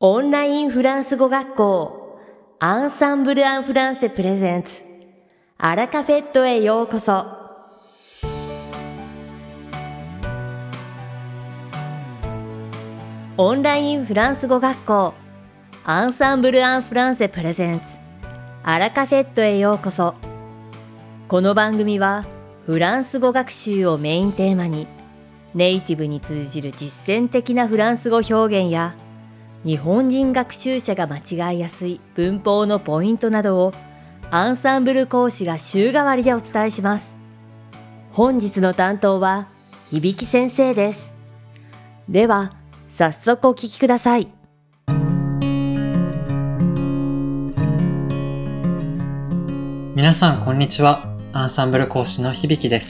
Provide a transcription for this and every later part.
オンラインフランス語学校アンサンブル・アン・フランセプレゼンツアラカフェットへようこそ。オンラインフランス語学校アンサンブル・アン・フランセプレゼンツアラカフェットへようこそ。この番組はフランス語学習をメインテーマにネイティブに通じる実践的なフランス語表現や日本人学習者が間違いやすい文法のポイントなどをアンサンブル講師が週替わりでお伝えします。本日の担当は響先生です。では早速お聞きください。 皆さんこんにちは。アンサンブル講師の響です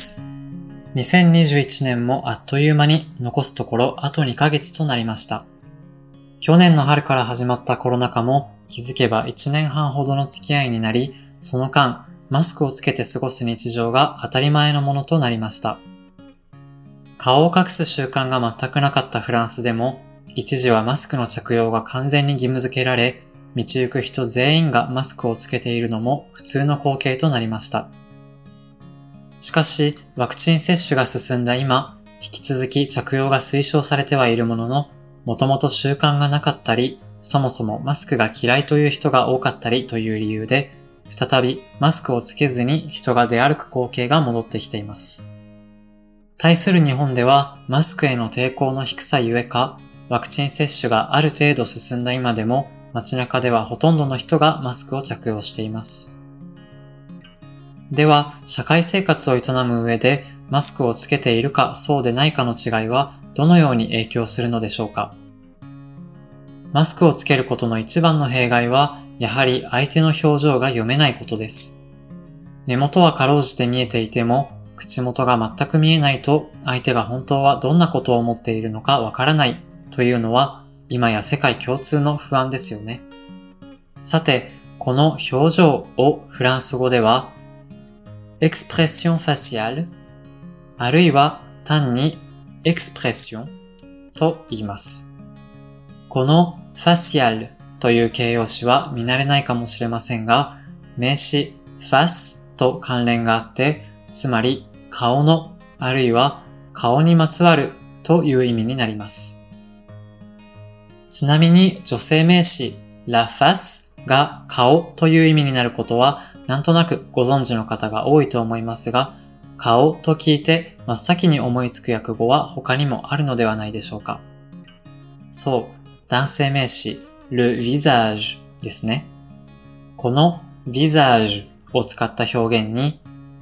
。2021年もあっという間に残すところあと2ヶ月となりました。去年の春から始まったコロナ禍も気づけば1年半ほどの付き合いになり、その間マスクをつけて過ごす日常が当たり前のものとなりました。顔を隠す習慣が全くなかったフランスでも、一時はマスクの着用が完全に義務付けられ、道行く人全員がマスクをつけているのも普通の光景となりました。しかし、ワクチン接種が進んだ今、引き続き着用が推奨されてはいるものの、もともと習慣がなかったり、そもそもマスクが嫌いという人が多かったりという理由で、再びマスクをつけずに人が出歩く光景が戻ってきています。対する日本では、マスクへの抵抗の低さゆえか、ワクチン接種がある程度進んだ今でも、街中ではほとんどの人がマスクを着用しています。では、社会生活を営む上で、マスクをつけているかそうでないかの違いは、どのように影響するのでしょうか。マスクをつけることの一番の弊害は、やはり相手の表情が読めないことです。目元はかろうじて見えていても、口元が全く見えないと、相手が本当はどんなことを思っているのかわからないというのは、今や世界共通の不安ですよね。さて、この表情をフランス語では、エクスプレッションファシアル、あるいは単にエクスプレッションと言います。このファシアルという形容詞は見慣れないかもしれませんが、名詞ファスと関連があって、つまり顔のあるいは顔にまつわるという意味になります。ちなみに女性名詞 la face が顔という意味になることはなんとなくご存知の方が多いと思いますが、顔と聞いて真っ先に思いつく訳語は他にもあるのではないでしょうか。そう、男性名詞 le visage ですね。この visage を使った表現に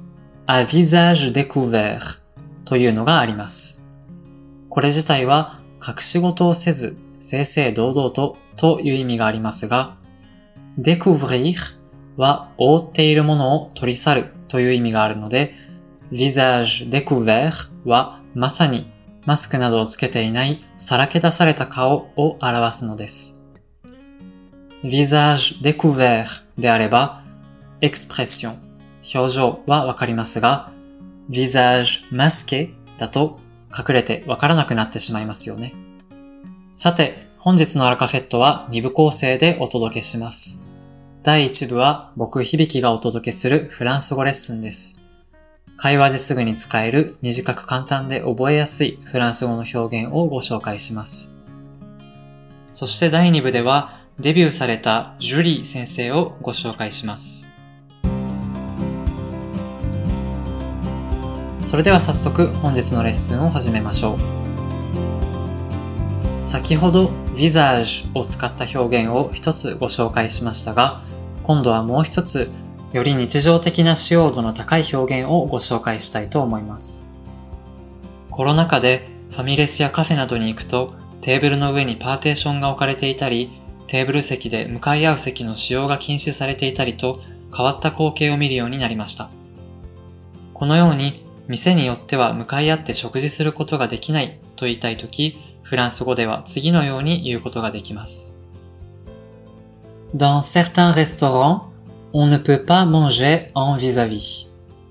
à visage découvert というのがあります。これ自体は隠し事をせず正々堂々という意味がありますが、découvrir は覆っているものを取り去るという意味があるので、visage découvert はまさにマスクなどをつけていないさらけ出された顔を表すのです。visage découvert であれば、expression 表情はわかりますが、visage masqué だと隠れてわからなくなってしまいますよね。さて、本日のアラカフェットは2部構成でお届けします。第1部は僕響がお届けするフランス語レッスンです。会話ですぐに使える短く簡単で覚えやすいフランス語の表現をご紹介します。そして第2部ではデビューされたジュリー先生をご紹介します。それでは早速本日のレッスンを始めましょう。先ほど visage を使った表現を一つご紹介しましたが、今度はもう一つより日常的な使用度の高い表現をご紹介したいと思います。コロナ禍でファミレスやカフェなどに行くとテーブルの上にパーテーションが置かれていたり、テーブル席で向かい合う席の使用が禁止されていたりと変わった光景を見るようになりました。このように店によっては向かい合って食事することができないと言いたいとき、フランス語では次のように言うことができます。Dans certains restaurants, on ne peut pas manger en vis-à-vis.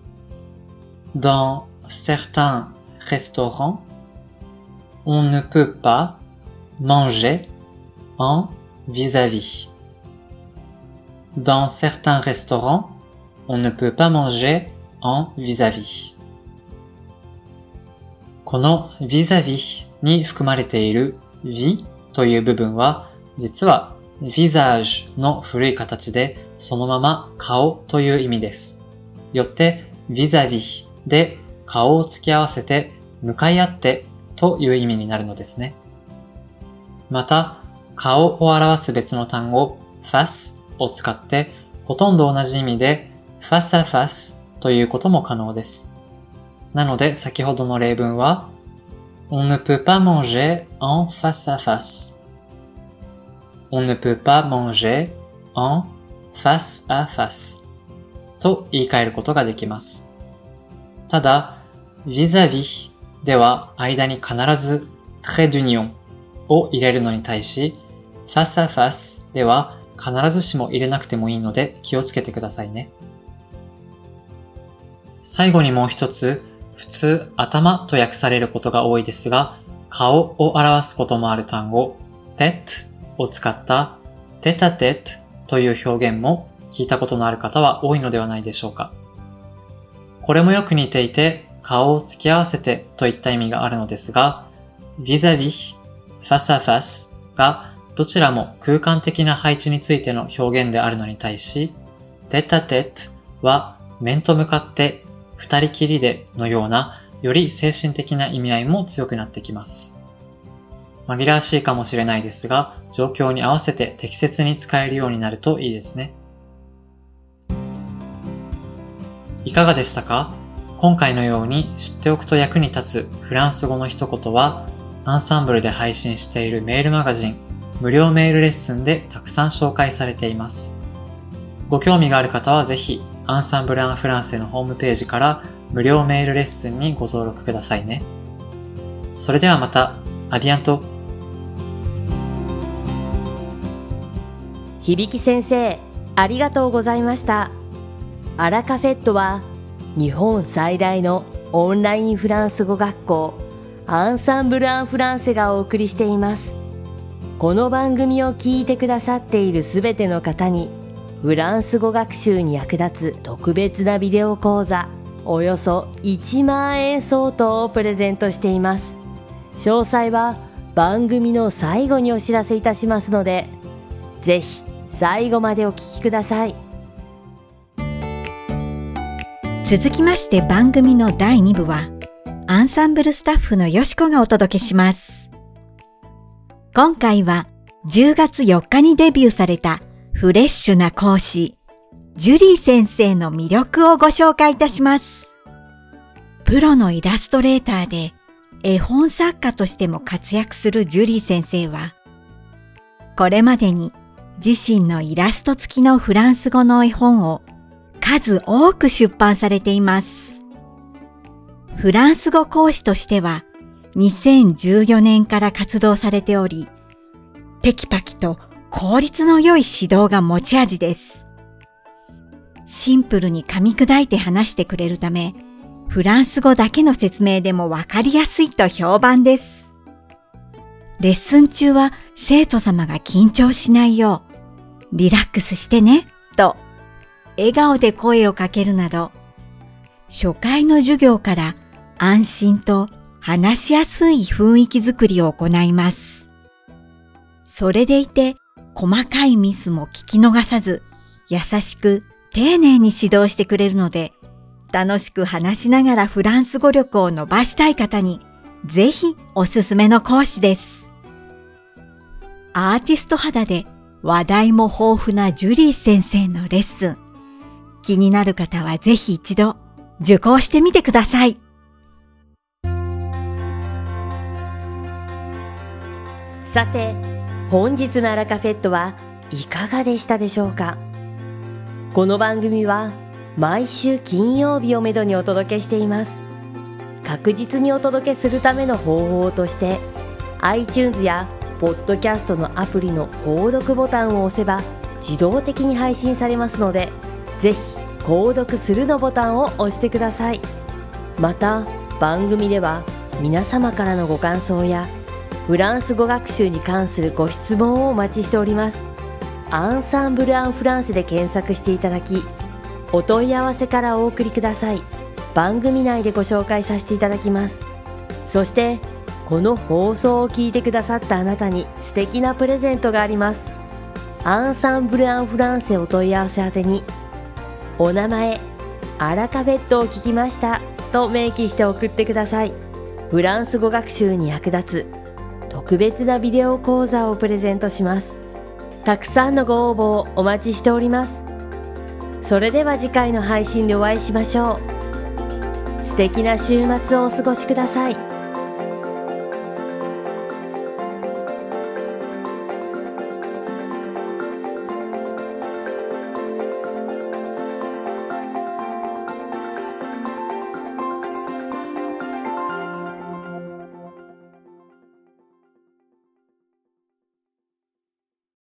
Dans certains restaurants, on ne peut pas manger en vis-à-vis. Dans certains restaurants, on ne peut pas manger en vis-à-vis. この vis-à-vis に含まれている vis という部分は実は visage の古い形でそのまま顔という意味です。よって vis-à-vis で顔を付き合わせて向かい合ってという意味になるのですね。また顔を表す別の単語 face を使ってほとんど同じ意味で face à face ということも可能です。なので先ほどの例文は On ne peut pas manger en face à face. On ne peut pas manger en face à face と言い換えることができます。ただ vis-à-vis では間に必ず trait d'union を入れるのに対し face à face では必ずしも入れなくてもいいので気をつけてくださいね。最後にもう一つ、普通頭と訳されることが多いですが、顔を表すこともある単語 tête を使ったtête à tête という表現も聞いたことのある方は多いのではないでしょうか。これもよく似ていて顔を突き合わせてといった意味があるのですが、vis-à-vis、face à face がどちらも空間的な配置についての表現であるのに対し、tête à tête は面と向かって二人きりでのようなより精神的な意味合いも強くなってきます。紛らわしいかもしれないですが、状況に合わせて適切に使えるようになるといいですね。いかがでしたか？今回のように知っておくと役に立つフランス語の一言は、アンサンブルで配信しているメールマガジン、無料メールレッスンでたくさん紹介されています。ご興味がある方はぜひ、アンサンブル・アン・フランセのホームページから無料メールレッスンにご登録くださいね。それではまた、アビアント。 響先生、ありがとうございました。アラカフェットは日本最大のオンラインフランス語学校アンサンブル・アン・フランセがお送りしています。この番組を聞いてくださっているすべての方にフランス語学習に役立つ特別なビデオ講座およそ1万円相当をプレゼントしています。詳細は番組の最後にお知らせいたしますので、ぜひ最後までお聞きください。 続きまして番組の第2部はアンサンブルスタッフのよしこがお届けします。今回は10月4日にデビューされたフレッシュな講師、ジュリー先生の魅力をご紹介いたします。プロのイラストレーターで絵本作家としても活躍するジュリー先生は、これまでに自身のイラスト付きのフランス語の絵本を数多く出版されています。フランス語講師としては2014年から活動されており、テキパキと効率の良い指導が持ち味です。シンプルに噛み砕いて話してくれるため、フランス語だけの説明でもわかりやすいと評判です。レッスン中は生徒様が緊張しないよう、リラックスしてね、と笑顔で声をかけるなど、初回の授業から安心と話しやすい雰囲気づくりを行います。それでいて、細かいミスも聞き逃さず、優しく丁寧に指導してくれるので、楽しく話しながらフランス語力を伸ばしたい方に、ぜひおすすめの講師です。アーティスト肌で話題も豊富なジュリー先生のレッスン。気になる方はぜひ一度受講してみてください。 さて、本日のアラカフェットはいかがでしたでしょうか。この番組は毎週金曜日をめどにお届けしています。確実にお届けするための方法として iTunes やポッドキャストのアプリの購読ボタンを押せば自動的に配信されますので、ぜひ購読するのボタンを押してください。また番組では皆様からのご感想やフランス語学習に関するご質問をお待ちしております。アンサンブル・アン・フランセで検索していただき、お問い合わせからお送りください。番組内でご紹介させていただきます。そしてこの放送を聞いてくださったあなたに素敵なプレゼントがあります。アンサンブル・アン・フランセお問い合わせ宛てに、お名前、アラカフェットを聞きましたと明記して送ってください。フランス語学習に役立つ特別なビデオ講座をプレゼントします。たくさんのご応募をお待ちしております。それでは次回の配信でお会いしましょう。素敵な週末をお過ごしください。